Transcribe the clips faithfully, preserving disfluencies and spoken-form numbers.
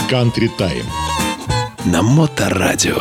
Country Time на Моторадио.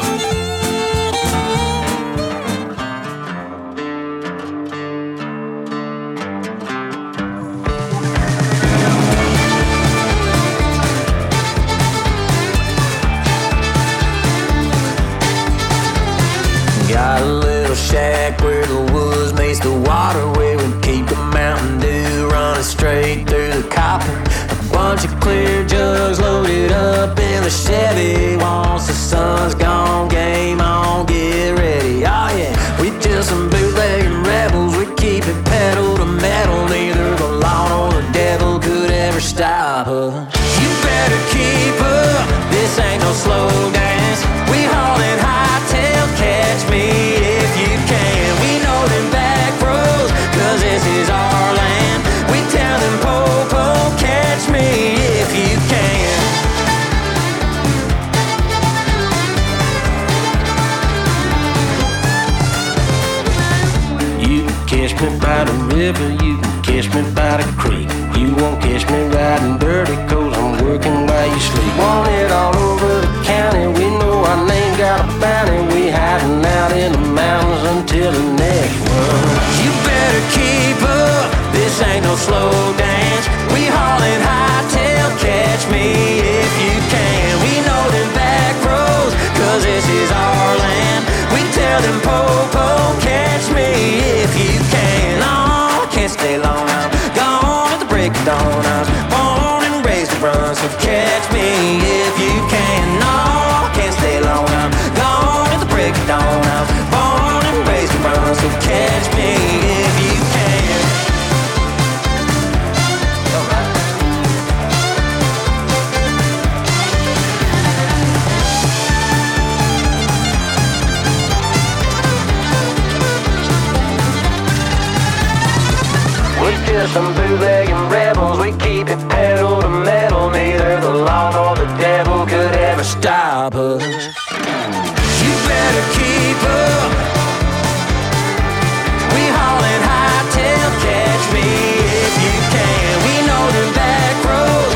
Got a little shack where the woods meets the water, where we keep the Mountain Dew running straight through the copper. A bunch of clear jugs loaded up in the Chevy. Once the sun's gone, game on, get ready. Oh yeah, we just some bootlegging rebels. We keep it pedal to metal. Neither the law nor the devil could ever stop us. You better keep up, this ain't no slow dance. We haulin' hightail, catch me if you can. We know them back roads, cause this is our land. We tell them po-po, catch me if you can. You can catch me by the river, you can catch me by the creek. You won't catch me riding dirty, cause I'm working while you sleep. Want it all over the county, we know our name got a bounty. We hiding out in the mountains until the next one. You better keep up, this ain't no slow dance. We haulin' hightail, catch me if you can. We know them back roads, cause this is our land. We tell them po-po, catch me if you can. Oh, I can't stay long, I'm gone at the break of dawn. I was born and raised to run, so catch me if you can. No, I can't stay long, I'm gone at the break of dawn. I was born and raised to run, so catch me if you can. We're just some bootlegging rebels. We keep it pedal to metal. Neither the law nor the devil could ever stop us. You better keep up. We haulin' hightail, catch me if you can. We know them back roads.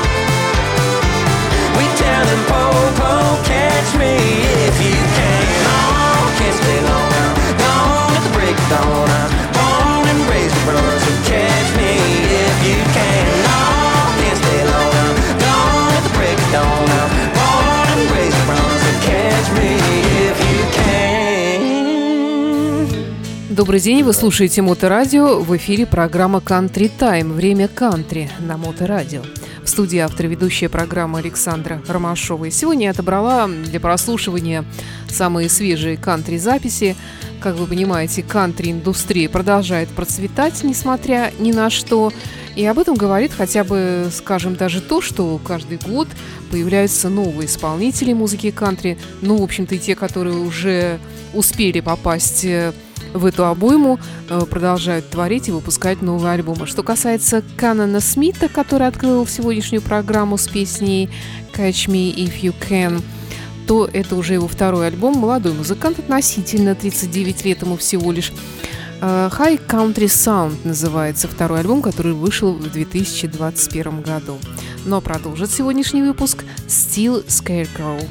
We tell them po-po, catch me if you can. Oh, can't stay long, I'm gone at the break of dawn. I'm born and raised to run, so catch me if you can. No, can't stay long, I'm gone at the break of dawn. I'm born and raised to run, so catch me if you can. Добрый день, вы слушаете Моторадио. В эфире программа Country Time. Время кантри на Моторадио. В студии автор и ведущая программы Александра Ромашова. И сегодня я отобрала для прослушивания самые свежие кантри-записи. Как вы понимаете, кантри-индустрия продолжает процветать, несмотря ни на что. И об этом говорит хотя бы, скажем, даже то, что каждый год появляются новые исполнители музыки кантри. Ну, в общем-то, и те, которые уже успели попасть в эту обойму, продолжают творить и выпускать новые альбомы. Что касается Канона Смита, который открыл сегодняшнюю программу с песней «Catch Me If You Can», то это уже его второй альбом. Молодой музыкант, относительно, тридцать девять лет ему всего лишь. High Country Sound называется второй альбом, который вышел в две тысячи двадцать первом году. Но продолжит сегодняшний выпуск Steel Scarecrow.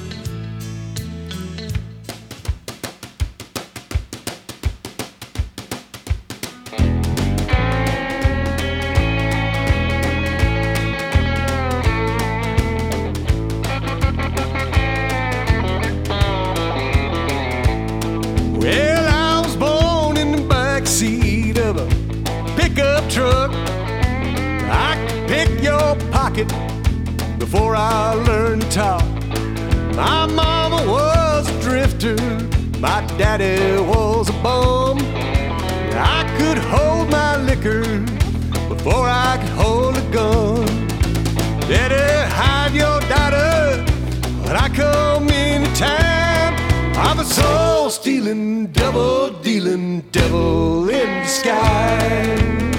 Before I learned to talk, my mama was a drifter, my daddy was a bum. I could hold my liquor before I could hold a gun. Better hide your daughter when I come into town. I'm a soul-stealing, double-dealing devil in disguise.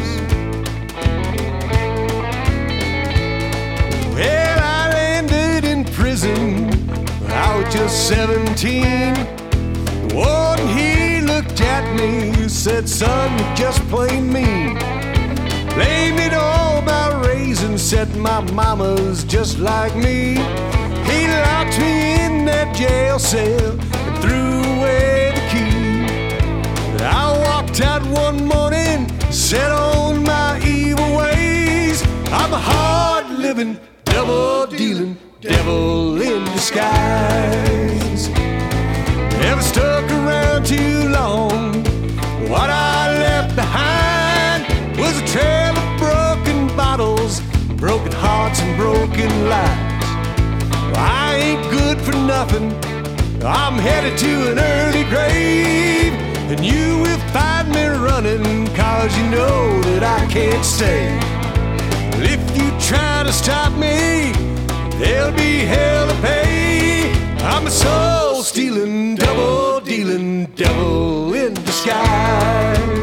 Well, I landed in prison when I was just seventeen. The warden, he looked at me, said, son, you're just plain mean. blamed it all by raising, said my mama's just like me. He locked me in that jail cell and threw away the key. I walked out one morning, set on my evil ways. I'm a hard-living, double-dealing devil in disguise. Never stuck around too long. What I left behind was a trail of broken bottles, broken hearts and broken lives. I ain't good for nothing. I'm headed to an early grave, and you will find me running, cause you know that I can't stay. If you try to stop me, there'll be hell to pay. I'm a soul-stealing, double-dealing devil in disguise.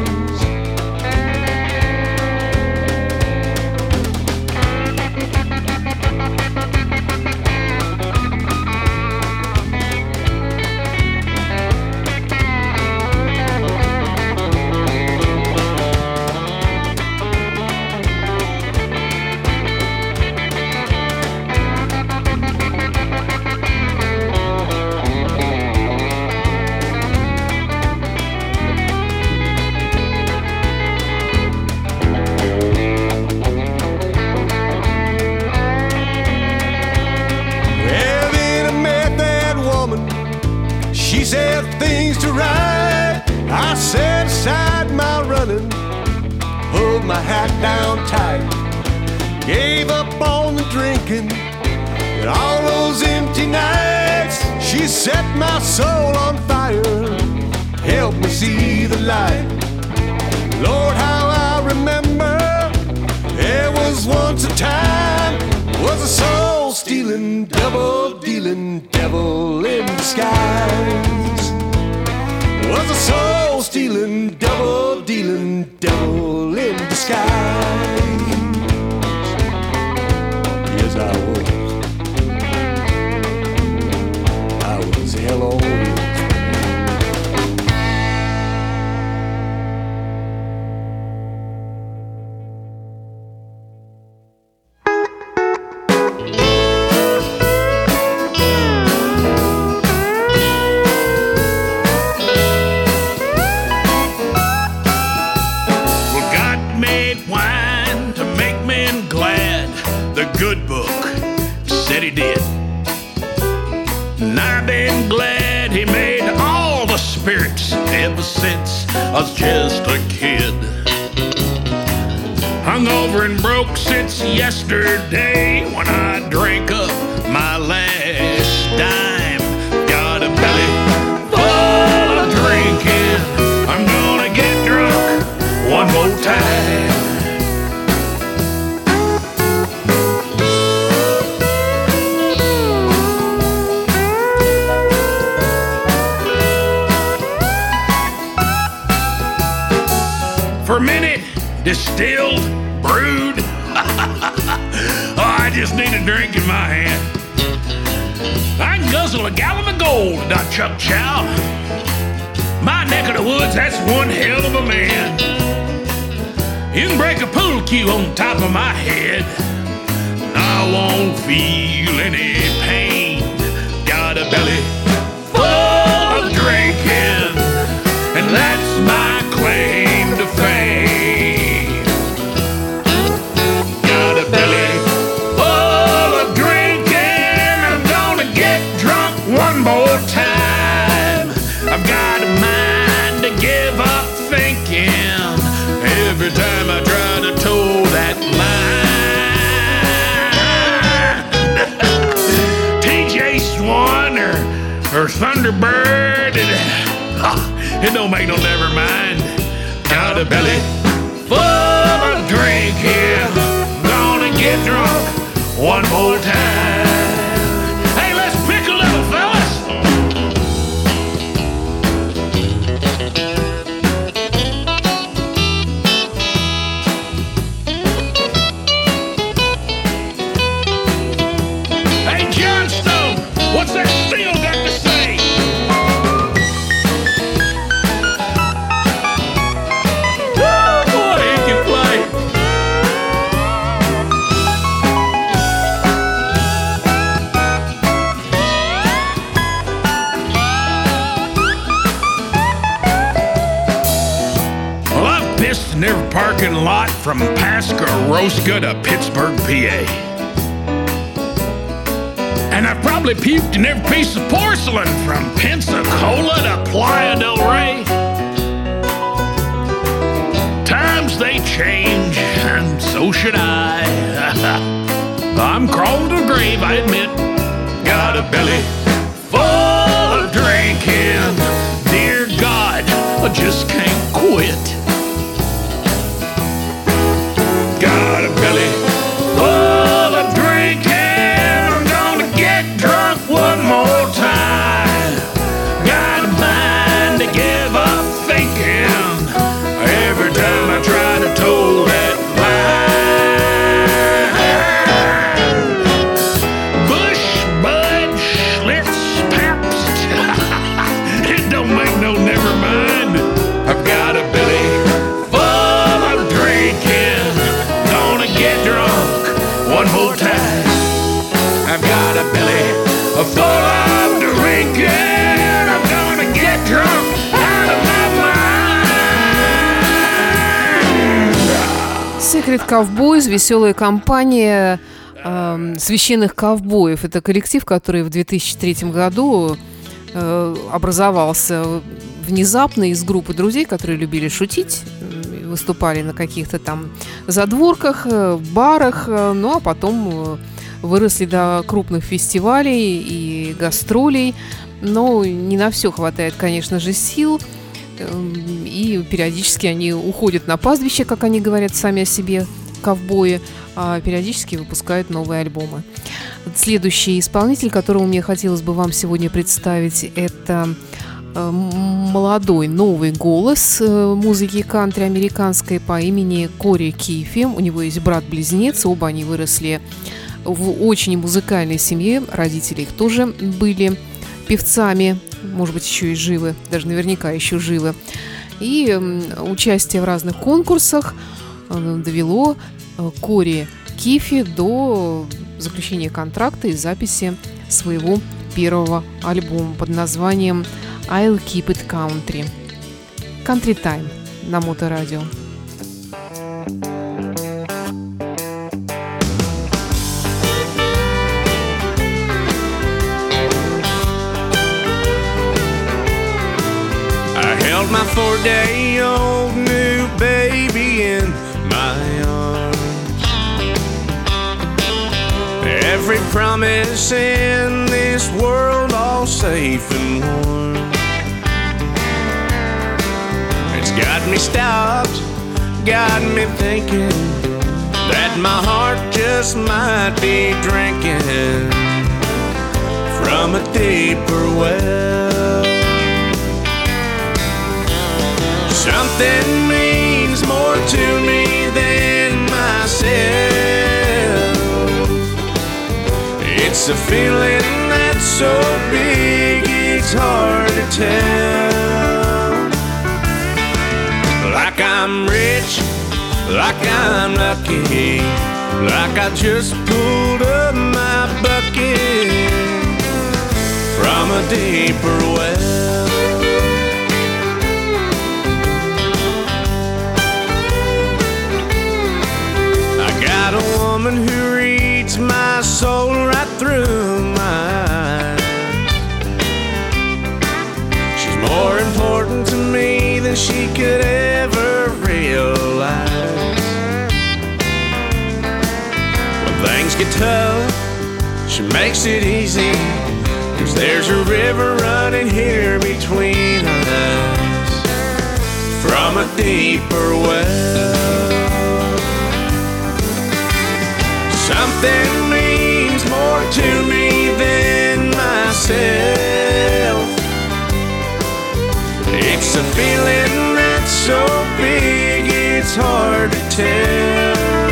I set aside my running, pulled my hat down tight, gave up on the drinking and all those empty nights. She set my soul on fire, helped me see the light. Lord, how I remember there was once a time, was a soul-stealing, double-dealing devil in disguise. Was a soul-stealing, double-dealing devil in disguise. Yes, I was. I was hell on wheels. Good book said he did, and I've been glad he made all the spirits ever since I was just a kid. Hungover and broke since yesterday when I drank up my last dime. Got a belly full of drinking, I'm gonna get drunk one more time. Fermented, distilled, brewed. Oh, I just need a drink in my hand. I can guzzle a gallon of gold, not Chuck Chow. My neck of the woods, that's one hell of a man. You can break a pool cue on top of my head, and I won't feel any pain. Got a belly full of drinking, and that's my claim to fame. Got a belly full of drinking, I'm gonna get drunk one more time. I've got a mind to give up thinking every time I try to toe that line. T J Swan or, or Thunderbird, it, oh, it don't make no never mind. Got a belly full of drinking, gonna get drunk one more time. Hey, let's pick a little, fellas. Hey, John Stone, what's that steel got to say? parking lot from Pascaroska to Pittsburgh, P A. And I've probably puked in every piece of porcelain from Pensacola to Playa del Rey. Times they change, and so should I. I'm crawling to the grave, I admit. Got a belly full of drinking. Dear God, I just can't quit. Got a belly full of drinking. I'm gonna get drunk one more time. Got a mind to give up thinking. Every time I try to toe that line. Bush, Bud, Schlitz, Pabst. It don't make no never mind. I've got a belly full of drinking. Gonna get drunk one more time. I've got a belly full of drinking. I'm gonna get drunk out of my mind. Secret Cowboys, веселая компания э, священных ковбоев. Это коллектив, который в две тысячи третьем году э, образовался внезапно из группы друзей, которые любили шутить, выступали на каких-то там задворках, барах, ну а потом выросли до крупных фестивалей и гастролей. Но не на все хватает, конечно же, сил. И периодически они уходят на пастбище, как они говорят сами о себе, ковбои, а периодически выпускают новые альбомы. Следующий исполнитель, которого мне хотелось бы вам сегодня представить, это молодой новый голос музыки кантри американской по имени Кори Кифи. У него есть брат-близнец, оба они выросли в очень музыкальной семье, родители их тоже были певцами, может быть, еще и живы, даже наверняка еще живы. И участие в разных конкурсах довело Кори Кифи до заключения контракта и записи своего первого альбома под названием I'll Keep It Country. Country Time на Моторадио. I held my four-day-old new baby in my arms. Every promise in this world all safe and warm. It's got me stopped, got me thinking that my heart just might be drinking from a deeper well. Something means more to me than myself. It's a feeling that's so big it's hard to tell. Like I'm rich, like I'm lucky, like I just pulled up my bucket from a deeper well. I got a woman who reads my soul right through my eyes. She's more important to me than she could ever realize. When things get tough, she makes it easy, 'cause there's a river running here between us from a deeper well. Something means more to me than myself. It's a feeling that's so big it's hard to tell.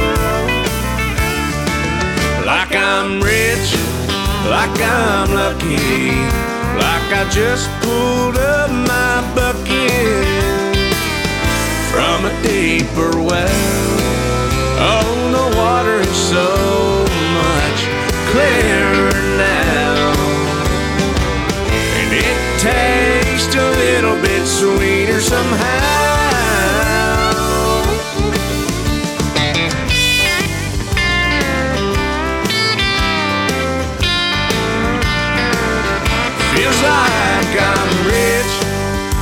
Like I'm rich, like I'm lucky, like I just pulled up my bucket from a deeper well. Oh, the water is so much clearer now, and it tastes a little bit sweeter somehow.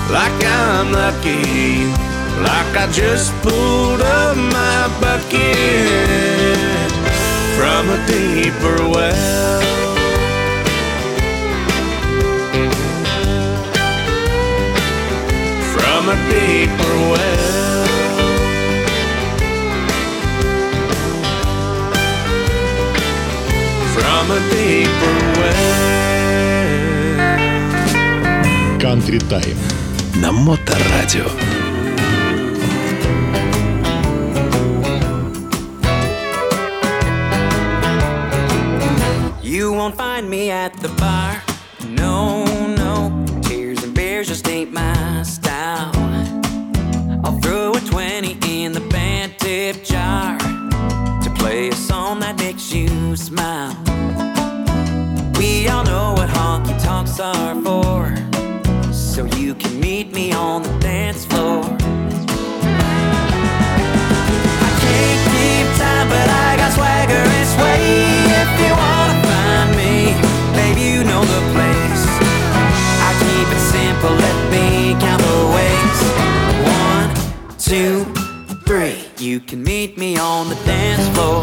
like I'm lucky, like I just pulled up my bucket from a deeper well. From a deeper well. From a deeper well. Country Time на Моторадио. You won't find me at the bar. No, no. Tears and beers just ain't my style. I'll throw a twenty in the band tip jar to play a song that makes you smile. We all know what honky tonks are for, so you can meet me on the dance floor. I can't keep time, but I got swagger and sway. If you wanna find me, baby, you know the place. I keep it simple, let me count the ways. One, two, three. You can meet me on the dance floor.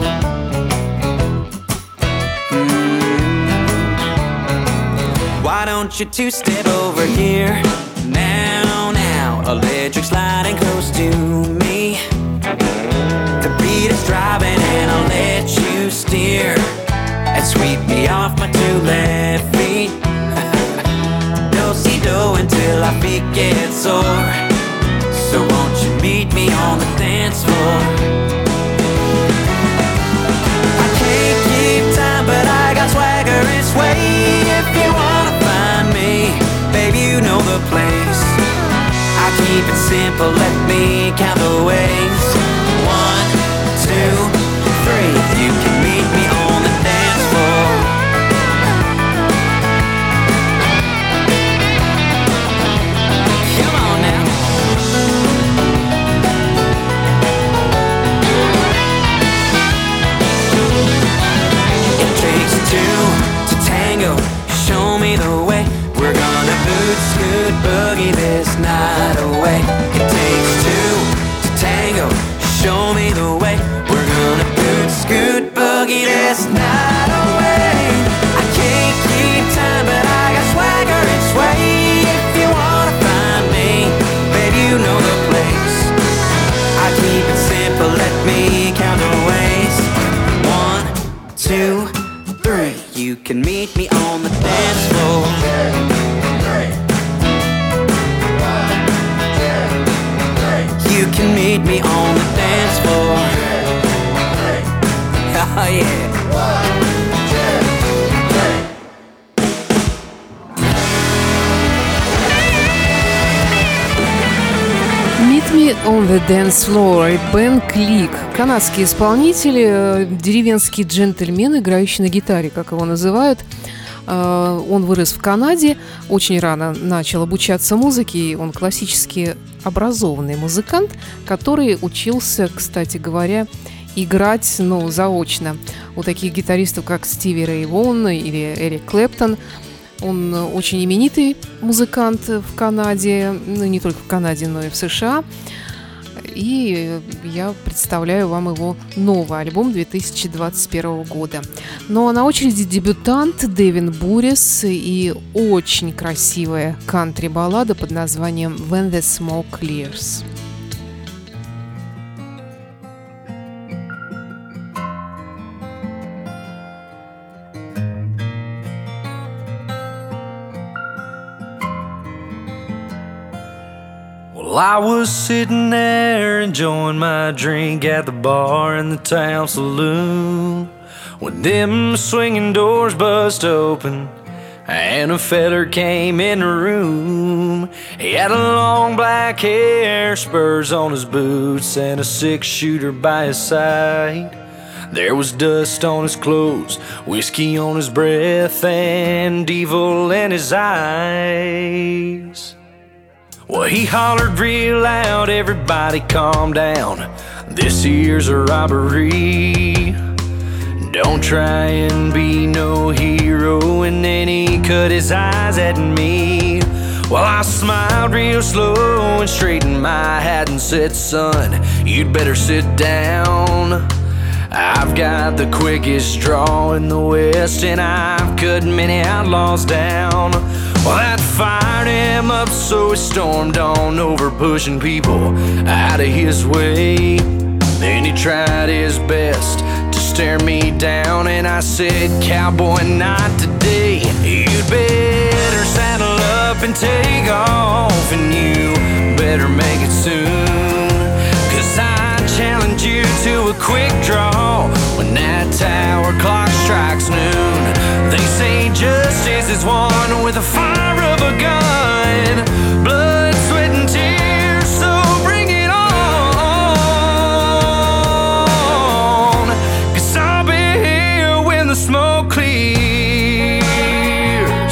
Why don't you two-step over here? Now, now, electric sliding close to me. The beat is driving and I'll let you steer and sweep me off my two left feet. Do-si-do until our feet get sore. So won't you meet me on the dance floor? I can't keep time, but I got swagger and sway. If you wanna find me, baby, you know the place. I keep it simple, let me count the ways. One, two, three. You can meet me on the dance floor. Come on now. It takes two to tango, show me the way. We're gonna boot, scoot, boogie this night away. It takes two to tango, show me the way. We're gonna boot, scoot, boogie this night away. I can't keep time, but I got swagger and sway. If you wanna find me, baby, you know the place. I keep it simple, let me count the ways. One, two, three. You can meet me on the dance floor. You can meet me on the dance floor. Oh yeah. Meet Me on the Dance Floor и Бен Клик. Канадский исполнитель, деревенский джентльмен, играющий на гитаре, как его называют. Он вырос в Канаде, очень рано начал обучаться музыке. Он классически образованный музыкант, который учился, кстати говоря, играть, ну, заочно у таких гитаристов, как Стиви Рэй Вон или Эрик Клэптон. Он очень именитый музыкант в Канаде, ну, не только в Канаде, но и в США. И я представляю вам его новый альбом две тысячи двадцать первого года. Ну а на очереди дебютант Дэвин Бурис и очень красивая кантри-баллада под названием «When the Smoke Clears». Well, I was sitting there enjoying my drink at the bar in the town saloon when them swinging doors bust open and a feller came in the room. He had a long black hair, spurs on his boots, and a six-shooter by his side. There was dust on his clothes, whiskey on his breath, and evil in his eyes. Well, he hollered real loud, everybody calm down. This here's a robbery. Don't try and be no hero. And then he cut his eyes at me. Well, I smiled real slow and straightened my hat and said, son, you'd better sit down. I've got the quickest draw in the West, and I've cut many outlaws down. Well, that fired him up, so he stormed on over, pushing people out of his way. Then he tried his best to stare me down, and I said, cowboy, not today. You'd better saddle up and take off, and you better make it soon, 'cause I challenge you to a quick draw when that tower clock strikes noon. They say justice is won with the fire of a gun, blood, sweat, and tears, so bring it on, 'cause I'll be here when the smoke clears.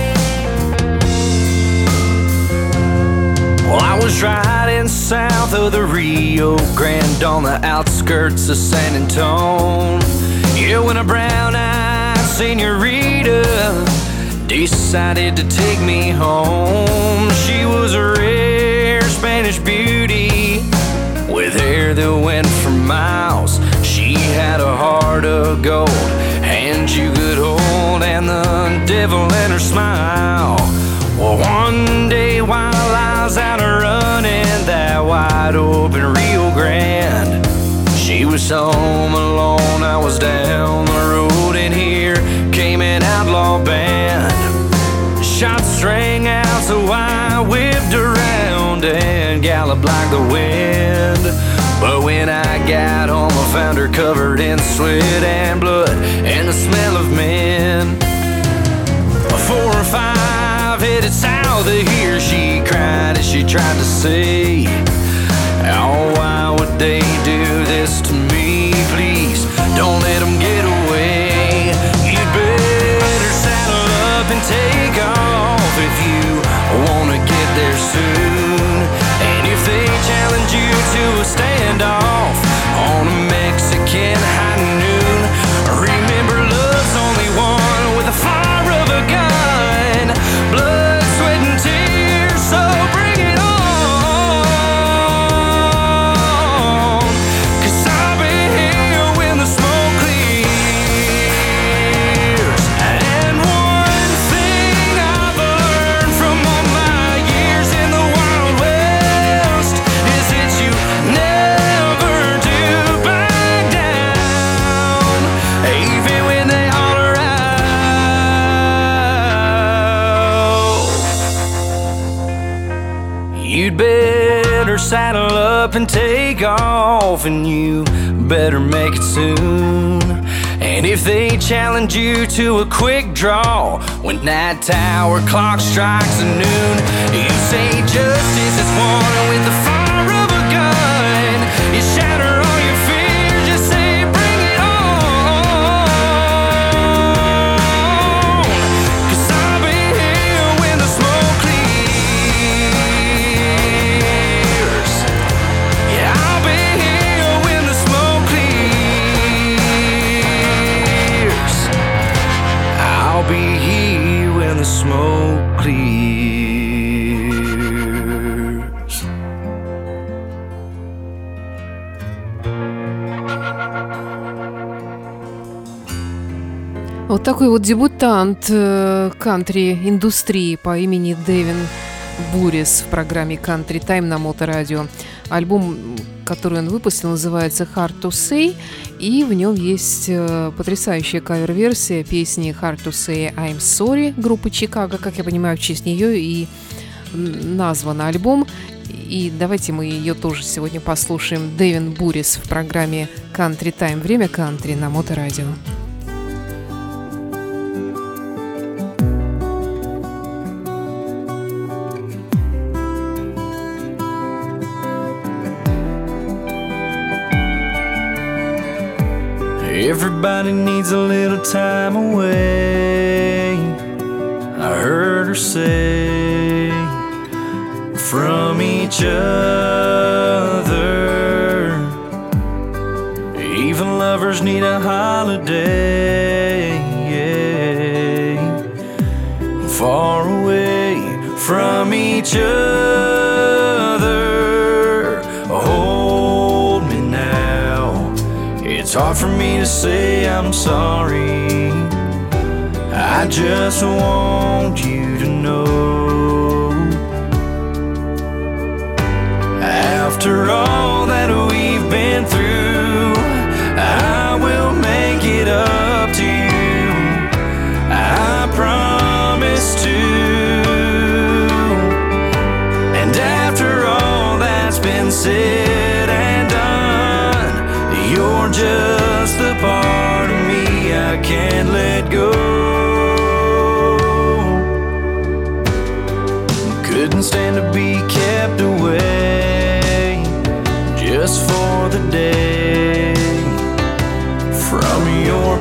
Well, I was riding south of the Rio Grande on the outskirts of San Antonio. Yeah, when a brown-eyed senorita decided to take me home. She was a rare Spanish beauty with hair that went for miles. She had a heart of gold, hands you could hold, and the devil in her smile. Well, one day while I was out running that wide open Rio Grande, she was home alone, I was down the road, and here came an outlaw band. Shots rang out, so I whipped around and galloped like the wind. But when I got home, I found her covered in sweat and blood and the smell of men. Four or five headed south of here, she cried as she tried to say, oh, why would they do this to me? Please, don't let them get away. You'd better saddle up and take off if you wanna get there soon. And if they challenge you to a standoff on a Mexican high noon, remember love's only one with the fire of a gun, blood, sweat, and tears, so bring it on, 'cause I'll be here when the smoke clears. And one thing I've learned from all my years in the Wild West is that you never do back down, even when they holler out. You'd better saddle up and take off, and you better make it soon. And if they challenge you to a quick draw when that tower clock strikes noon, you say justice is won with the fire of a gun. You shatter all your fears, you say bring it on, 'cause I'll be here when the smoke clears. Yeah, I'll be here when the smoke clears. I'll be here when the smoke clears. Вот такой вот дебютант э, кантри-индустрии по имени Дэвин Бурис в программе Country Time на Моторадио. Альбом, который он выпустил, называется Hard to Say, и в нем есть э, потрясающая кавер-версия песни Hard to Say I'm Sorry группы Чикаго. Как я понимаю, в честь нее и назван альбом. И давайте мы ее тоже сегодня послушаем. Дэвин Бурис в программе Country Time. Время кантри на Моторадио. Everybody needs a little time away, I heard her say, from each other. Even lovers need a holiday, yeah. Far away from each other. Hold me now. It's hard for me to say I'm sorry. I just want you to know, after all that we've been through, I will make it up to you. I promise to. And after all that's been said and done, you're just the part of me I can't let go. Couldn't stand to be kept away just for the day from your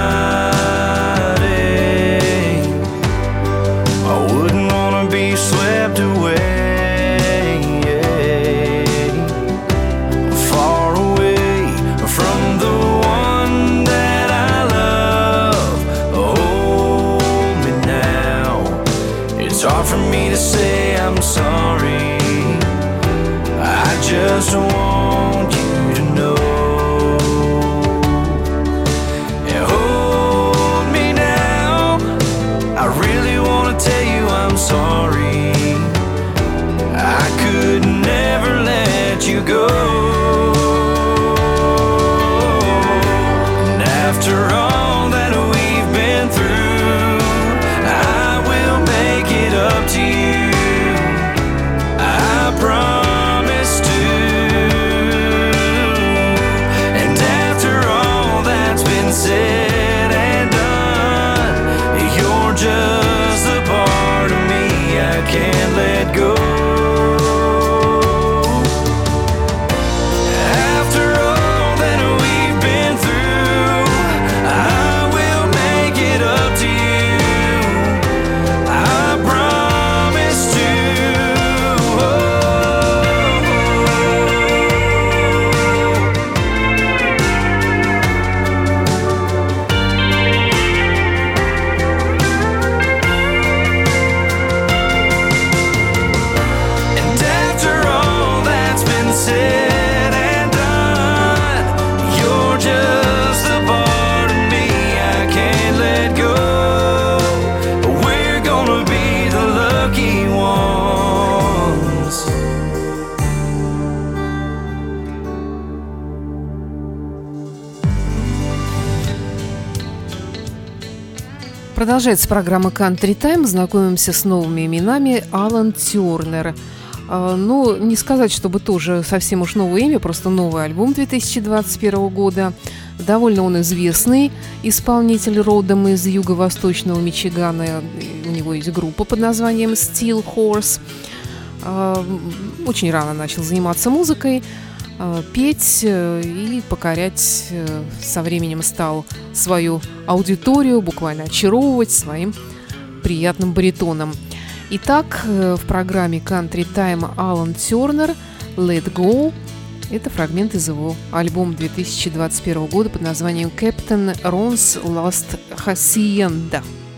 body. I wouldn't wanna be swept away, far away from the one that I love. Hold me now. It's hard for me to say I'm sorry. I just want you to know. And hold me now. I really want to tell you I'm sorry. I could never let you go. And after all that we've been through, I will make it up to you. I promise to. And after all that's been said and done, you're just a part of me I can't let go. After all that we've been through, I will make it up to you. I promise to. And after all that's been said and done, you're just a part of me I can't let go. We're gonna be the lucky ones. Продолжается программа Country Time. Знакомимся с новыми именами. Алан Тернер. А, ну, не сказать, чтобы тоже совсем уж новое имя, просто новый альбом две тысячи двадцать первого года. Довольно он известный исполнитель, родом из юго-восточного Мичигана. У него есть группа под названием Steel Horse. А, очень рано начал заниматься музыкой, а, петь и покорять со временем стал свою аудиторию, буквально очаровывать своим приятным баритоном. Итак, в программе Country Time Алан Тернер «Let Go». Это фрагмент из его альбома две тысячи двадцать первого года под названием «Captain Ron's Last Hacienda».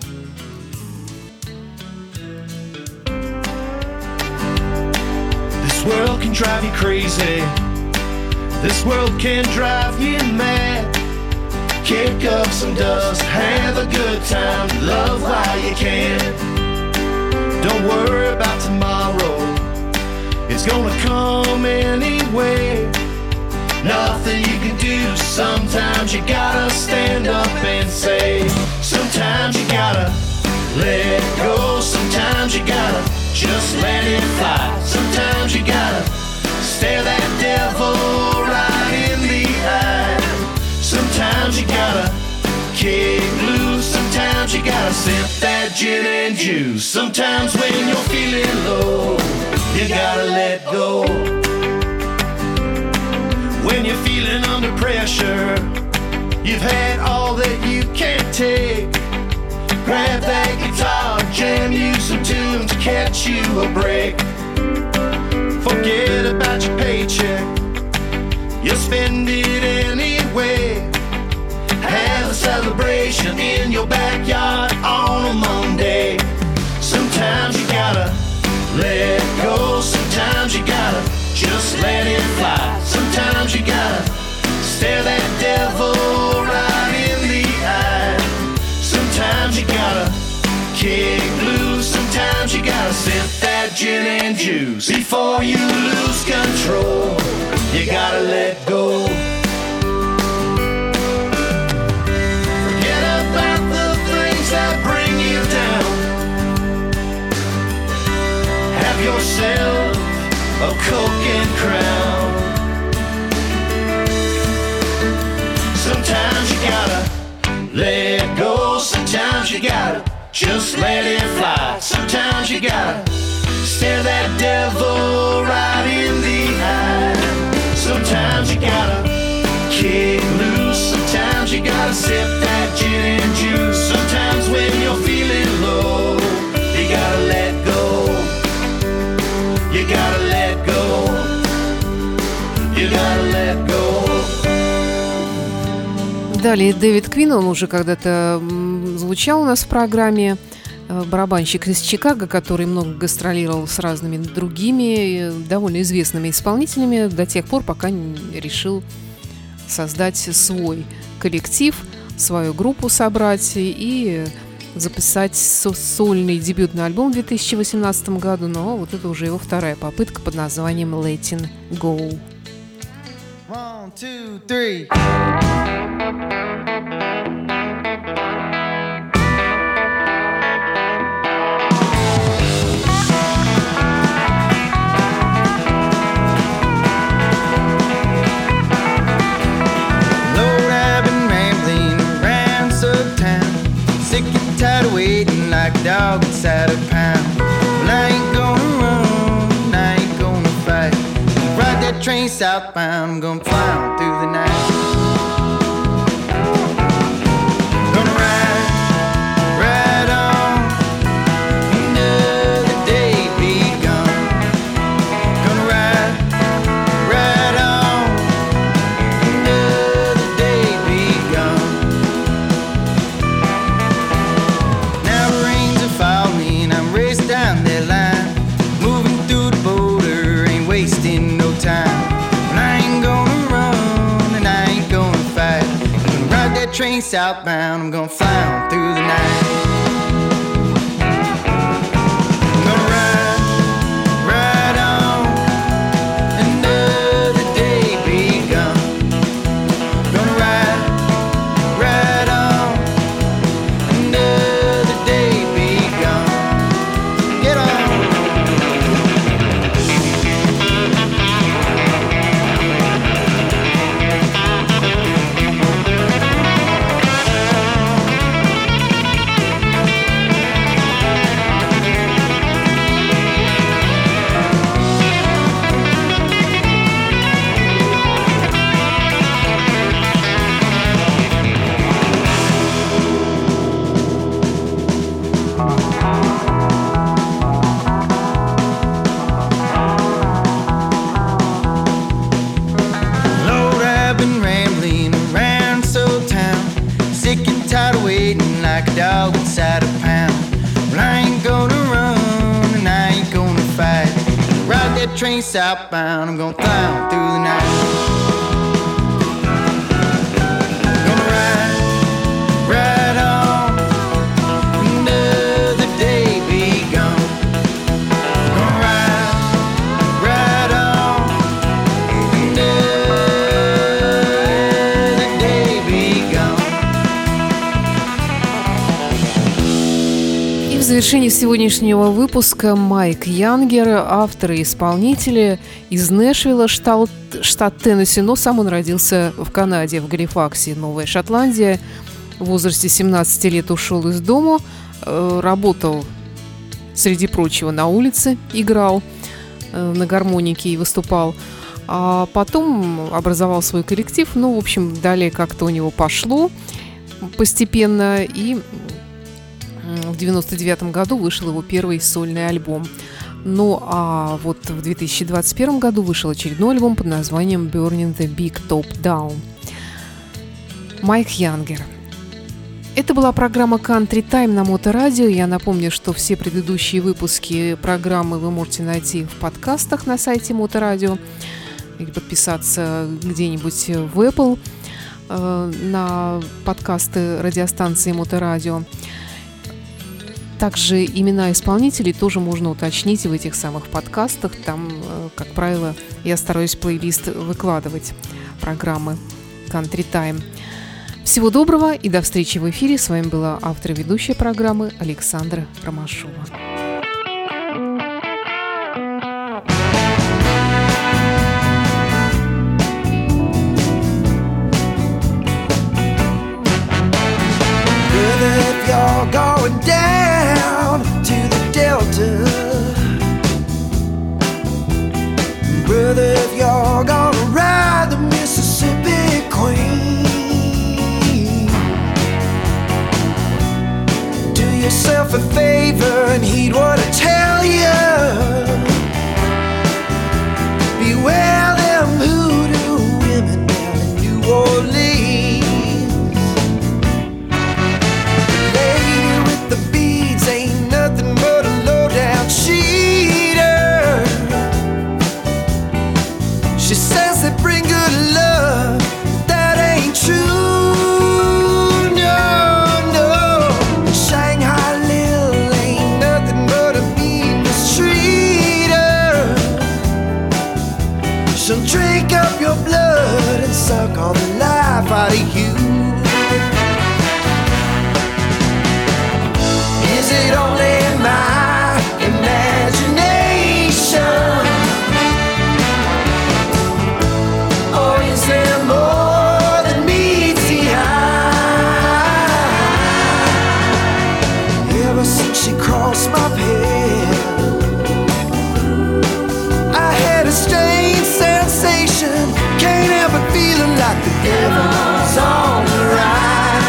This world can drive you crazy. This world can drive you mad. Kick up some dust, have a good time, love while you can. Don't worry about tomorrow, it's gonna come anyway. Nothing you can do, sometimes you gotta stand up and say. Sometimes you gotta let go, sometimes you gotta just let it fly. Sometimes you gotta stare that devil right in the eye. Sometimes you gotta kick loose, sometimes you gotta sip that gin and juice. Sometimes when you're feeling low, you gotta let go. When you're feeling under pressure, you've had all that you can't take. Grab that guitar, jam you some tunes, catch you a break. Forget about your paycheck, you'll spend it anyway. Have a celebration in your backyard on a Monday. Sometimes you gotta let Sometimes you gotta kick loose, sometimes you gotta sip that gin and juice. Before you lose control, you gotta let go. Forget about the things that bring you down. Have yourself a Coke and Crown. Sometimes you gotta let go, sometimes you gotta just let it fly. Sometimes you gotta stare that devil right in the eye. Sometimes you gotta kick loose, sometimes you gotta sip that gin and juice. Sometimes when you're feeling low, you gotta let go. You gotta let go. You gotta let go. Далее Дэвид Квин, он уже когда-то звучал у нас в программе, барабанщик из Чикаго, который много гастролировал с разными другими довольно известными исполнителями до тех пор, пока не решил создать свой коллектив, свою группу собрать и записать сольный дебютный альбом в две тысячи восемнадцатом году, но вот это уже его вторая попытка под названием Letting Go. One, two, three. Waiting like a dog inside a pound. Well, I ain't gonna run, I ain't gonna fight. Ride that train southbound, I'm gonna fly on through the night. Gonna ride, ride on, another day be gone. Gonna ride, ride on, another day be gone. Falling, I'm racing down that line, moving through the border, ain't wasting no time. And I ain't gonna run, and I ain't gonna fight. I'm gonna ride that train southbound, I'm gonna fly on through the night. I'm gonna ride, ride on, another day be gone. Gonna ride, ride on, another day be gone. Get on. Lord, I've been rambling around so town, sick and tired of waiting like a dog inside a pound. Well, I ain't gonna run, and I ain't gonna fight. Ride that train southbound, I'm gonna fly on through the night. Gonna ride, ride on, another day be gone. Gonna ride, ride on, another day be gone. И в завершении сегодняшнего выпуска Майк Янгер, автор и исполнитель из Нэшвилла, штат, штат Теннесси, но сам он родился в Канаде, в Галифаксе, Новая Шотландия. В возрасте семнадцати лет ушел из дома, э, работал, среди прочего, на улице, играл э, на гармонике и выступал. А потом образовал свой коллектив. Ну, в общем, далее как-то у него пошло постепенно, и в девяносто девятом году вышел его первый сольный альбом. Ну а вот в две тысячи двадцать первом году вышел очередной альбом под названием Burning the Big Top Down. Майк Янгер. Это была программа Country Time на Моторадио. Я напомню, что все предыдущие выпуски программы вы можете найти в подкастах на сайте Моторадио или подписаться где-нибудь в Apple э, на подкасты радиостанции Моторадио. Также имена исполнителей тоже можно уточнить в этих самых подкастах. Там, как правило, я стараюсь плейлист выкладывать программы Country Time. Всего доброго и до встречи в эфире. С вами была автор и ведущая программы Александра Ромашова. You're going down to the Delta, brother, if you're gonna ride the Mississippi Queen, do yourself a favor and heed what I tell you. Beware them hoodoo women down in New Orleans. Suck all the life out of you. Is it only my imagination, or is there more than meets the eye? Ever since she crossed my path, I had a strange sensation. Can't help but feeling like the devil's on the rise.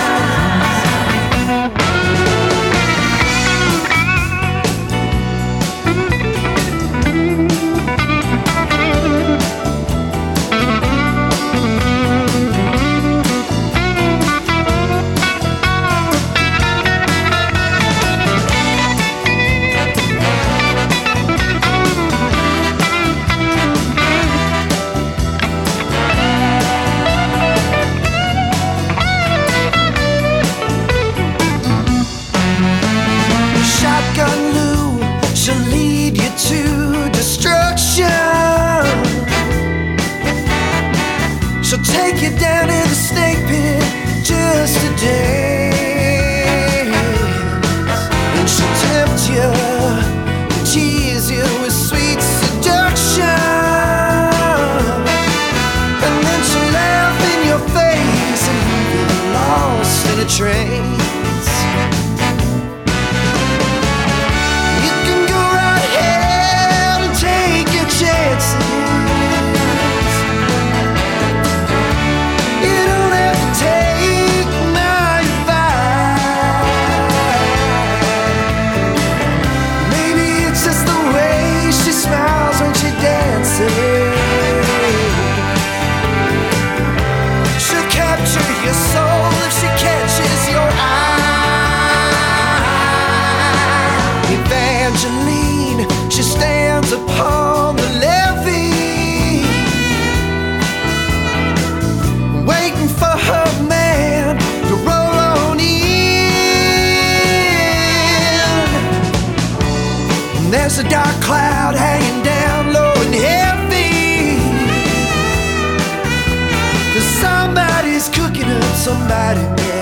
She'll take you down in the snake pit just a dance, and she'll tempt you and tease you with sweet seduction, and then she'll laugh in your face and leave you lost in a trance. You can go right ahead and take your chances. She'll capture your soul if she catches your eye. Evangeline, she stands upon the levee, waiting for her man to roll on in. There's a dark cloud hanging down low and heavy, 'cause somebody's cooking up somebody else.